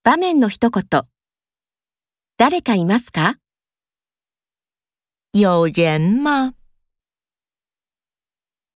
場面の一言。誰かいますか？ 有人吗？